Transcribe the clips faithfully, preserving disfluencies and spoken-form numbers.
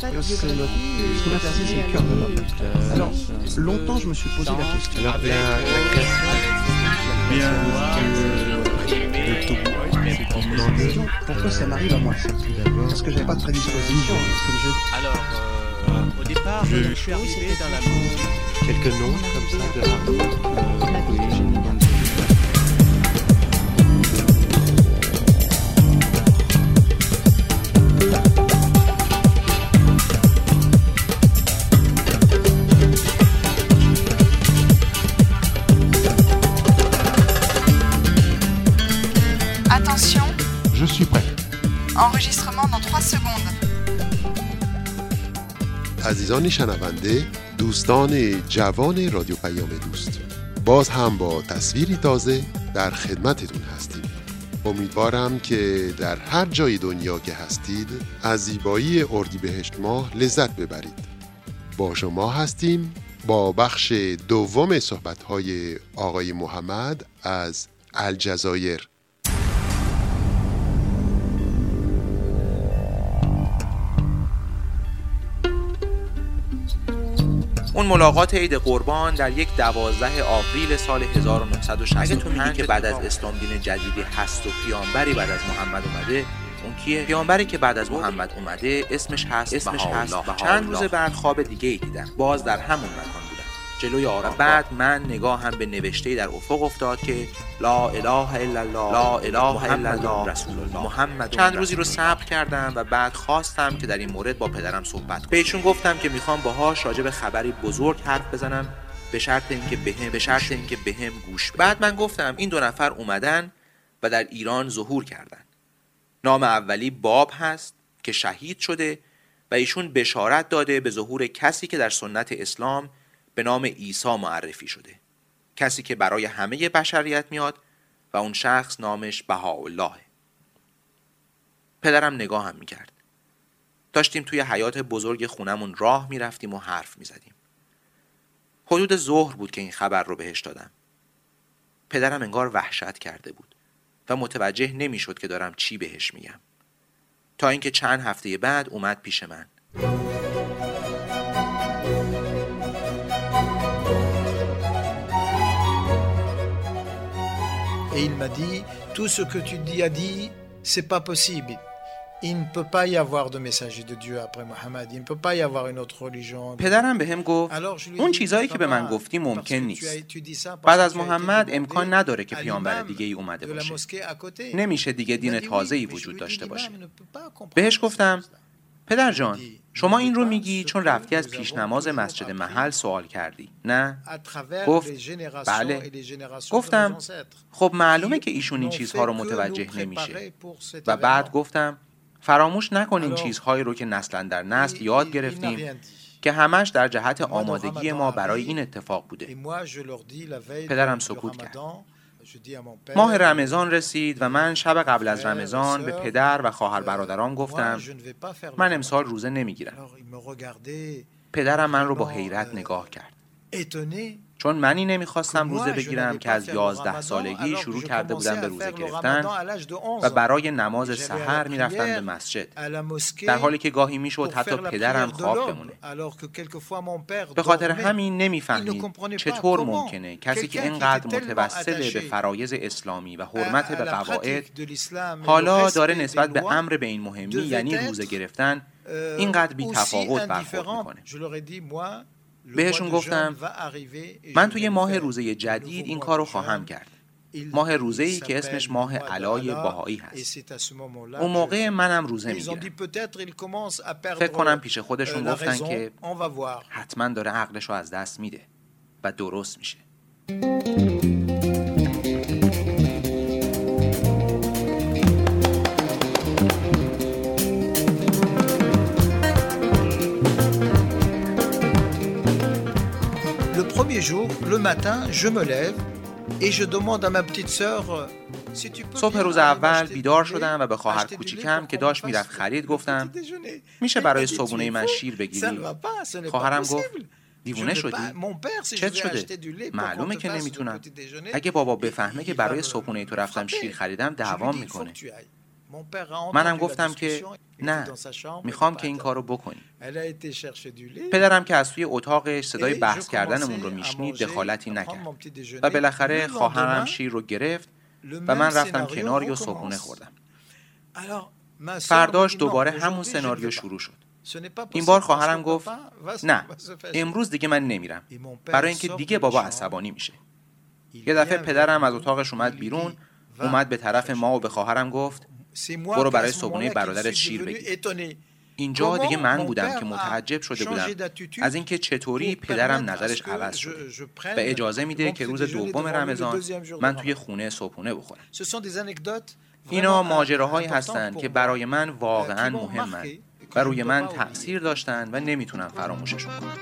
c'est notre, ce qu'on a placé, c'est le cœur de l'homme. Alors, longtemps, je me suis posé la question. Alors, la, la création, bien, La question, pourquoi ça m'arrive à moi ça? Parce que j'avais pas de prédisposition, comme je... Alors, euh, au départ, je, je suis arrivé dans la musique. quelques noms comme ça de artistes. Euh, oui, j'ai une bonne Attention, Je suis prêt. enregistrement dans trois secondes. عزیزان شنونده، دوستان جوان رادیو پیام دوست، باز هم با تصویری تازه در خدمتتون هستیم. امیدوارم که در هر جای دنیا که هستید از زیبایی اردیبهشت ماه لذت ببرید. با شما هستیم با بخش دوم صحبت‌های آقای محمد از الجزایر. اون ملاقات عید قربان در یک دوازده آوریل سال هزار و نهصد و شصت و پنج. اگه تو میگی که بعد از اسلام دین جدیدی هست و پیامبری بعد از محمد اومده، اون کیه؟ پیامبری که بعد از محمد اومده اسمش هست اسمش هست چند روز بعد خواب دیگه ای دیدم، باز در همون مکان بودم، جلوی آرام. بعد من نگاهم به نوشته‌ای در افق افتاد که لا اله الا الله لا اله الا الله رسول الله محمد. چند روزی رو صبر کردم و بعد خواستم که در این مورد با پدرم صحبت کنم. بهشون گفتم که میخوام باهاش راجع به خبری بزرگ حرف بزنم، به شرط اینکه بهم به شرط اینکه بهم گوش بدن. بعد من گفتم این دو نفر اومدن و در ایران ظهور کردن. نام اولی باب هست که شهید شده و ایشون بشارت داده به ظهور کسی که در سنت اسلام به نام عیسی معرفی شده، کسی که برای همه بشریت میاد و اون شخص نامش بهاءالله. پدرم نگاهم میکرد. داشتیم توی حیاط بزرگ خونمون راه میرفتیم و حرف میزدیم. حدود ظهر بود که این خبر رو بهش دادم. پدرم انگار وحشت کرده بود و متوجه نمیشد که دارم چی بهش میگم، تا اینکه چند هفته بعد اومد پیش من. Et il m'a dit, tout ce que tu dis a dit, c'est pas possible. Il ne peut pas y avoir de messager de Dieu après Mohammed. Il ne peut pas y avoir une autre religion. پدرم بهم گفت اون چیزایی که به من گفتی ممکن نیست. بعد از محمد امکان نداره که پیامبر دیگه ای اومده باشه. نمیشه دیگه دین تازه‌ای وجود داشته باشه. بهش گفتم پدر جان، شما این رو میگی چون رفتی از پیش نماز مسجد محل سوال کردی، نه؟ گفت بله. گفتم خب معلومه که ایشون این چیزها رو متوجه نمیشه. و بعد گفتم فراموش نکن این چیزهایی رو که نسلا در نسل یاد گرفتیم که همش در جهت آمادگی ما برای این اتفاق بوده. پدرم سکوت کرد. ماه رمضان رسید و من شب قبل از رمضان به پدر و خواهر برادرام گفتم من امسال روزه نمیگیرم. پدرم من رو با حیرت نگاه کرد، چون منی نمیخواستم روزه بگیرم که از یازده سالگی شروع کرده بودم به روزه گرفتن و برای نماز سحر میرفتم به مسجد، در حالی که گاهی میشد حتی پدرم خواب بمونه. به خاطر همین نمیفهمید چطور ممکنه کسی که اینقدر متوسل به فرایض اسلامی و حرمت به قواعد حالا داره نسبت به امر به این مهمی یعنی روزه گرفتن اینقدر بی تفاوت برخورد میکنه. بهشون گفتم من توی ماه روزه جدید این کارو خواهم کرد، ماه روزه‌ای که اسمش ماه علای بهایی هست. اون موقع منم روزه میگیرم. فکر کنم پیش خودشون گفتن که حتما داره عقلشو از دست میده و درست میشه. Le premier jour, le matin, je me lève et je demande à ma petite sœur si tu peux. صبح روز اول بیدار شدم و به خواهر کوچیکم که داشت میرفت خرید گفتم میشه برای صبحونه من شیر بگیری؟ خواهرم گفت دیوونه شدی؟ چت شده؟ معلومه که نمیتونم. اگه بابا بفهمه که برای صبحونه تو رفتم شیر خریدم دعوام میکنه. منم گفتم که نه، میخوام که این کارو بکنی. پدرم که از توی اتاقش صدای بحث کردنمون رو میشنید دخالتی نکرد و بالاخره خواهرم شیر رو گرفت و من رفتم کنار و صبحونه خوردم. فرداش دوباره همون سناریو شروع شد. این بار خواهرم گفت نه، امروز دیگه من نمیرم، برای اینکه دیگه بابا عصبانی میشه. یه دفعه پدرم از اتاقش اومد بیرون، اومد به طرف ما و به خواهرم گفت برو برای صبحونه برادرت شیر بگیر. اینجا دیگه من بودم که متعجب شده بودم از اینکه چطوری پدرم نظرش عوض شده و اجازه میده که روز دوم رمضان من توی خونه صبحونه بخورم. اینا ماجراهایی هستن که برای من واقعا مهمن و روی من تأثیر داشتن و نمیتونم فراموششون کنم.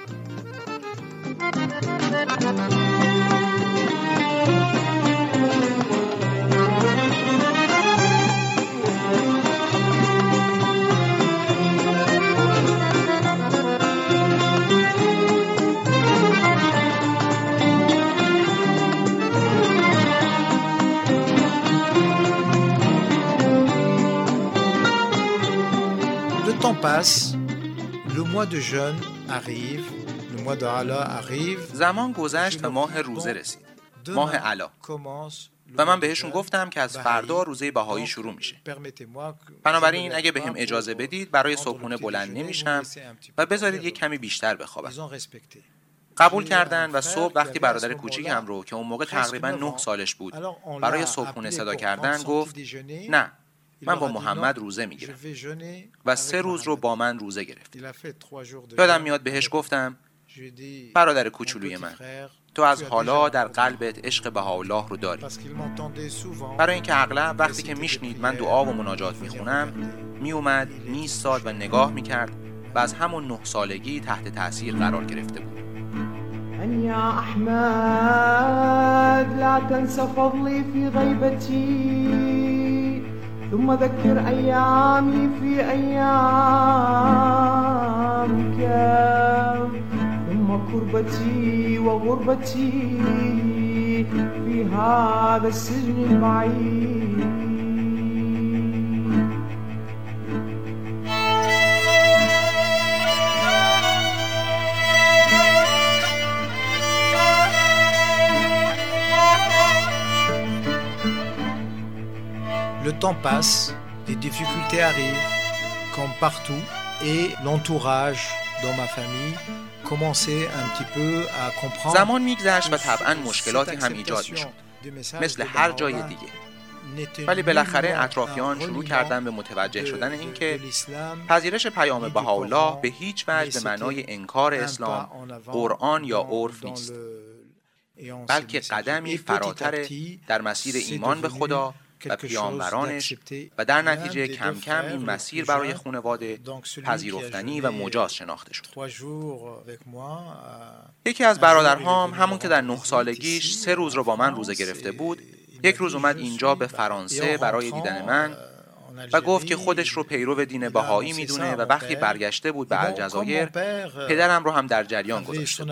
Le temps passe, le mois de jeûne arrive, le mois de Ala arrive. زمان گذشت و ماه روزه رسید. ماه علا. و من بهشون گفتم که از فردا روزه بهایی شروع میشه. بنابراین اگه بهم اجازه بدید برای صبحونه بلند نمیشم و بذارید یک کمی بیشتر بخوابم. قبول کردن و صبح وقتی برادر کوچیکم رو که اون موقع تقریبا نه سالش بود برای صبحونه صدا کردن گفت نه، من با محمد روزه میگیرم و سه روز رو با من روزه گرفت. یادم میاد بهش گفتم برادر کوچولوی من، تو از حالا در قلبت عشق بهاءالله رو داری. برای اینکه اغلب وقتی که میشنید من دعا و مناجات میخونم میومد میستاد و نگاه میکرد و از همون نه سالگی تحت تأثیر قرار گرفته بود. يا أحمد لا تنس فضلي في غيبتي ثم ذكر أيامي في أيامك ثم كربتي وغربتي في هذا السجن البعيد. Le temps passe, des difficultés arrivent, comme partout, et l'entourage dans ma famille commençait un petit peu à comprendre. زمان میگذشت و طبعاً مشکلاتی هم ایجاد میشد، مثل هر جای دیگه. ولی بالاخره اطرافیان شروع کردن به متوجه شدن اینکه پذیرش پیام بهاءالله به هیچ وجه به معنای انکار اسلام، قرآن یا عرف نیست، بلکه قدمی فراتر در مسیر ایمان به خدا و پیامبرانش و در نتیجه کم کم این مسیر برای خانواده پذیرفتنی و مجاز شناخته شد. یکی از برادرهام همون که در نه سالگیش سه روز رو با من روزه گرفته بود، یک روز اومد اینجا به فرانسه برای دیدن من و گفت که خودش رو پیرو دین بهایی میدونه و وقتی برگشته بود به الجزایر پدرم رو هم در جریان گذاشته.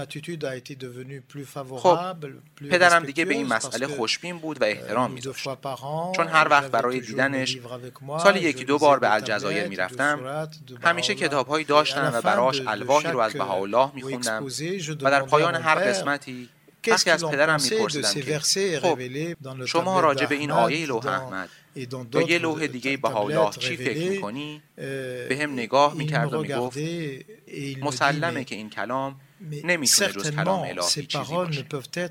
خب پدرم دیگه به این مسئله خوشبین بود و احترام میذاشت، چون هر وقت برای دیدنش سالی یکی دو بار به الجزایر میرفتم همیشه کتابهایی داشتم و براش الواحی رو از بهاءالله میخوندم و در پایان هر قسمتی وقتی از پدرم میپرسیدم که خب شما راجع به این آیه لوح احمد یا یه لوح دیگه بهاءالله چی فکر میکنی؟ به هم نگاه میکرد و میگفت مسلمه که این کلام نمیتونه جز کلام الهی چیزی باشه.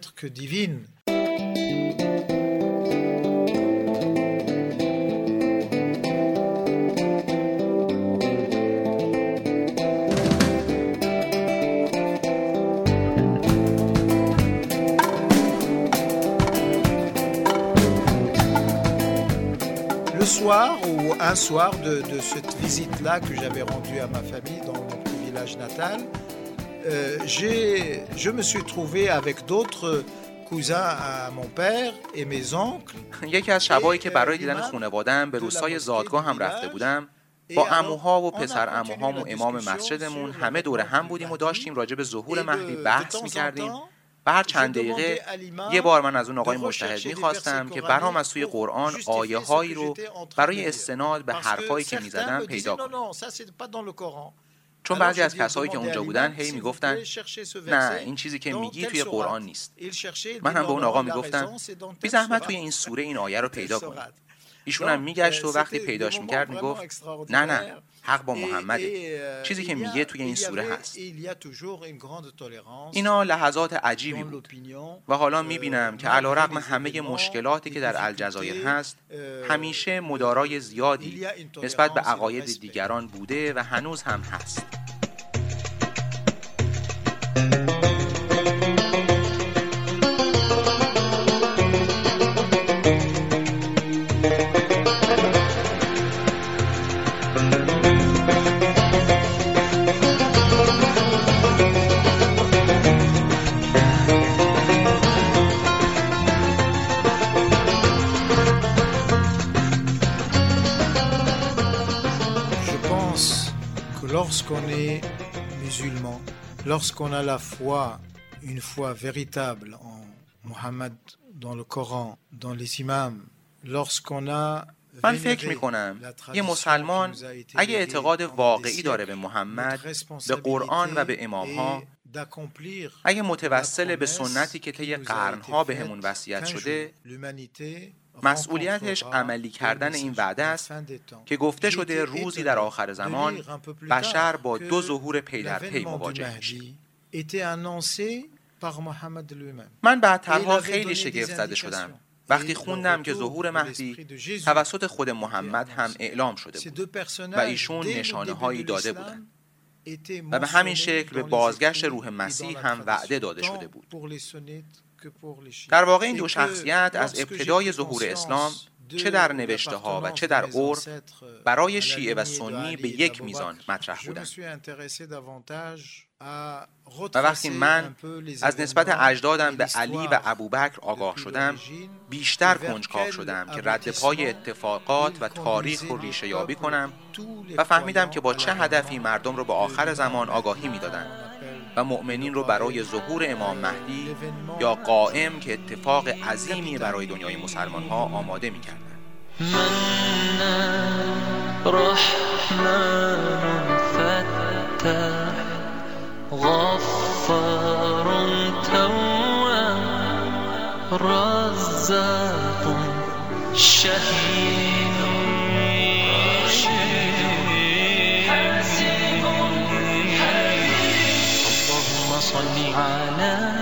soir ou un soir de, de cette visite-là que j'avais rendue à ma famille dans mon petit village natal, euh, j'ai, je me suis trouvé avec d'autres cousins à mon père et mes oncles. یکی از شبایی که برای دیدن خانواده‌ام به روستای زادگاه هم رفته بودم، با عموها و پسر عموهام و امام مسجدمون همه دور هم بودیم و داشتیم راجع به ظهور مهدی بحث می‌کردیم و هر چند دقیقه یه بار من از اون آقای مجتهد میخواستم که برام از توی قرآن آیه هایی رو برای استناد به حرفایی که میزدم پیدا کنم. چون بعضی از کسایی که اونجا بودن هی میگفتن نه این چیزی که میگی توی قرآن نیست. من هم به اون آقا میگفتم بی زحمت توی این سوره این آیه رو پیدا کن. ایشون هم میگشت و وقتی پیداش میکرد میگفت نه نه حق با محمده، چیزی که میگه توی این سوره هست. اینا لحظات عجیبی بود و حالا میبینم که علیرغم همه مشکلاتی که در الجزایر هست همیشه مدارای زیادی نسبت به عقاید دیگران بوده و هنوز هم هست. Lorsqu'on est musulman, lorsqu'on a la foi, une foi véritable en Mohammed, dans le Coran, dans les imams, lorsqu'on a من فکر میکنم یه مسلمان اگه اعتقاد واقعی داره به محمد، به قرآن و به امامها، اگه متوسل به سنتی که طی قرنها به همون وصیت شده، مسئولیتش عملی کردن این وعده است که گفته شده روزی در آخر زمان بشر با دو ظهور پی در پی مواجه میشه. من بعدترها خیلی شگفت زده شدم وقتی خوندم که ظهور مهدی توسط خود محمد هم اعلام شده بود و ایشون نشانه هایی داده بودند و به همین شکل به بازگشت روح مسیح هم وعده داده شده بود. در واقع این دو شخصیت از ابتدای ظهور اسلام چه در نوشته ها و چه در عرف برای شیعه و سنی به یک میزان مطرح بودند. و وقتی من از نسبت اجدادم به علی و ابوبکر آگاه شدم، بیشتر کنجکاو شدم که رد پای اتفاقات و تاریخ رو ریشه یابی کنم و فهمیدم که با چه هدفی مردم رو به آخر زمان آگاهی میدادند و مؤمنین رو برای ظهور امام مهدی یا قائم که اتفاق عظیمی برای دنیای مسلمان ها آماده می‌کردند. غفار تواب رزاق شهید حسيب اللهم صل على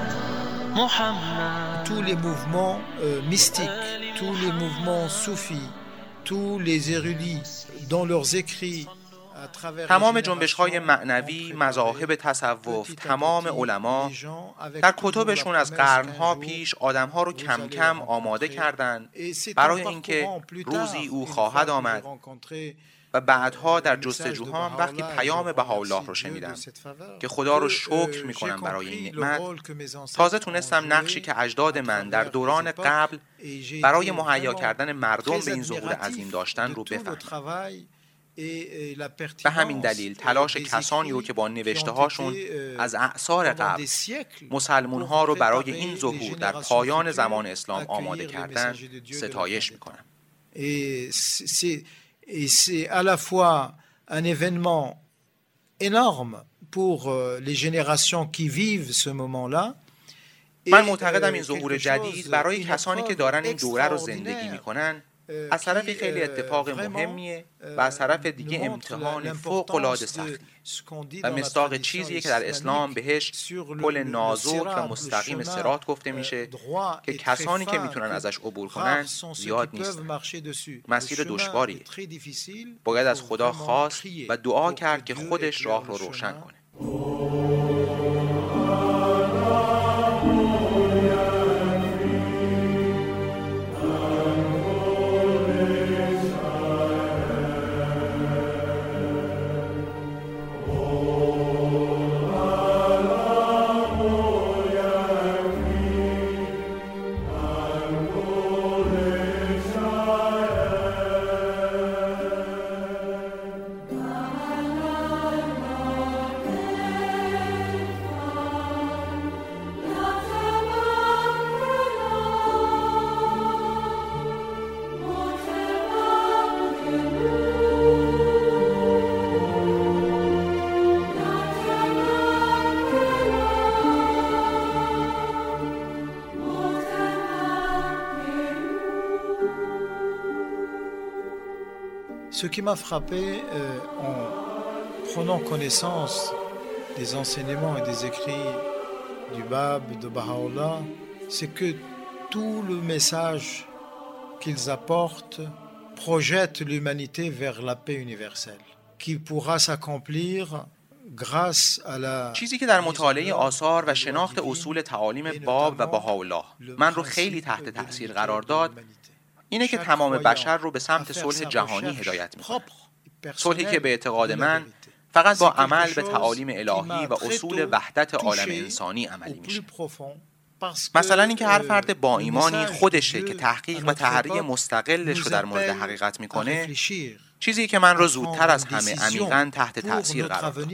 محمد. Tous les mouvements euh, mystiques, tous les mouvements soufis, tous les érudits dans leurs écrits, تمام جنبش‌های معنوی، مذاهب تصوف، تمام علما در کتبشون از قرنها پیش آدم‌ها رو کم کم آماده کردند برای اینکه روزی او خواهد آمد و بعدها در جستجوهام وقتی پیام بهاءالله رو شنیدم که خدا رو شکر میکنم برای این نعمت، تازه تونستم نقشی که اجداد من در دوران قبل برای مهیا کردن مردم به این ظهور عظیم داشتن رو بفهمم. به همین دلیل تلاش کسانی رو که با نوشته هاشون از اعصار قبل مسلمون ها رو برای این ظهور در پایان زمان اسلام آماده کردن ستایش میکنم. Et c'est à la fois un événement énorme pour les générations qui vivent ce moment-là. من معتقدم این ظهور جدید برای کسانی که دارن این دوره رو زندگی میکنن از طرف خیلی اتفاق مهمیه و از طرف دیگه امتحان فوق‌العاده سختی و مصداق چیزیه که در اسلام بهش پل نازک و مستقیم صراط گفته میشه که کسانی که میتونن ازش عبور کنن زیاد نیستن. مسیر دشواریه. باید از خدا خواست و دعا کرد که خودش راه رو روشن کنه. Ce qui m'a frappé euh, en prenant connaissance des enseignements et des écrits du Bab, de Baha'u'llah, c'est que tout le message qu'ils apportent projette l'humanité vers la paix universelle, qui pourra s'accomplir grâce à la. چیزی که در مطالعه آثار و شناخت اصول تعالیم باب و بهاءالله من رو خیلی تحت تأثیر قرار داد اینه که تمام بشر رو به سمت صلح جهانی هدایت می‌کنه. صلحی که به اعتقاد من فقط با عمل به تعالیم الهی و اصول وحدت عالم انسانی عملی میشه. مثلا اینکه هر فرد با ایمانی خودشه که تحقیق و تحری مستقلش رو در مورد حقیقت میکنه، چیزی که من رو زودتر از همه عمیقاً تحت تأثیر قرار داد.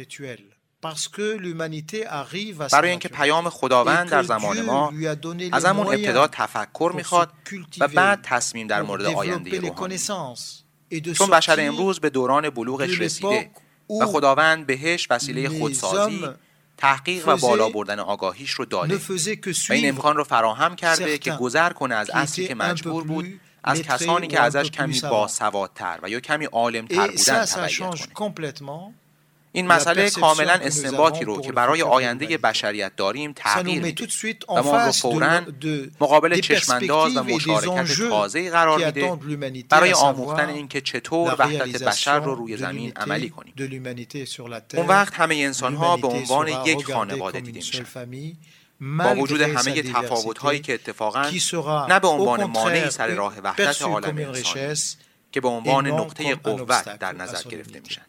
برای اینکه پیام خداوند در زمان ما از همون ابتدا تفکر میخواد و بعد تصمیم در مورد آینده روحانی. چون بشر امروز به دوران بلوغش رسیده و خداوند بهش وسیله خودسازی، تحقیق و بالا بردن آگاهیش رو داده و این امکان رو فراهم کرده که گذر کنه از عصری که مجبور بود از کسانی که ازش کمی باسوادتر و یا کمی عالم‌تر بودن تبعیت کنه. این مسئله کاملا استنباطی رو که برای آینده بشریت داریم تغییر میده و ما رو فوراً مقابل چشمانداز و مشارکت تازه‌ای قرار میده برای آموختن این که چطور وحدت بشر رو روی زمین عملی کنیم. اون وقت همه انسان‌ها به عنوان یک خانواده دیده میشن، با وجود همه تفاوت‌هایی که اتفاقاً نه به عنوان مانعی سر راه وحدت عالم انسانی که به عنوان نقطه قوت در نظر گرفته میشن.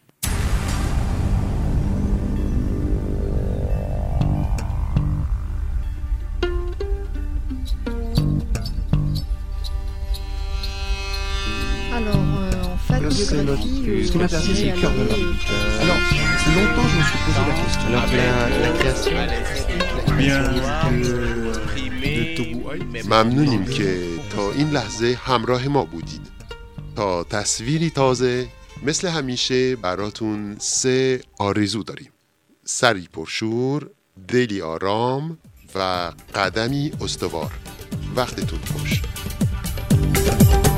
Alors, euh, en fait, c'est notre, ce qui m'intéresse, c'est le cœur de l'homme. Alors, longtemps, je me suis posé la question. Alors, la, la création bien de Tobuai. ممنونیم که تا این لحظه همراه ما بودید. تا تصویری تازه مثل همیشه براتون سه آرزو داریم: سری پرشور، دلی آرام و قدمی استوار. وقتتون خوش.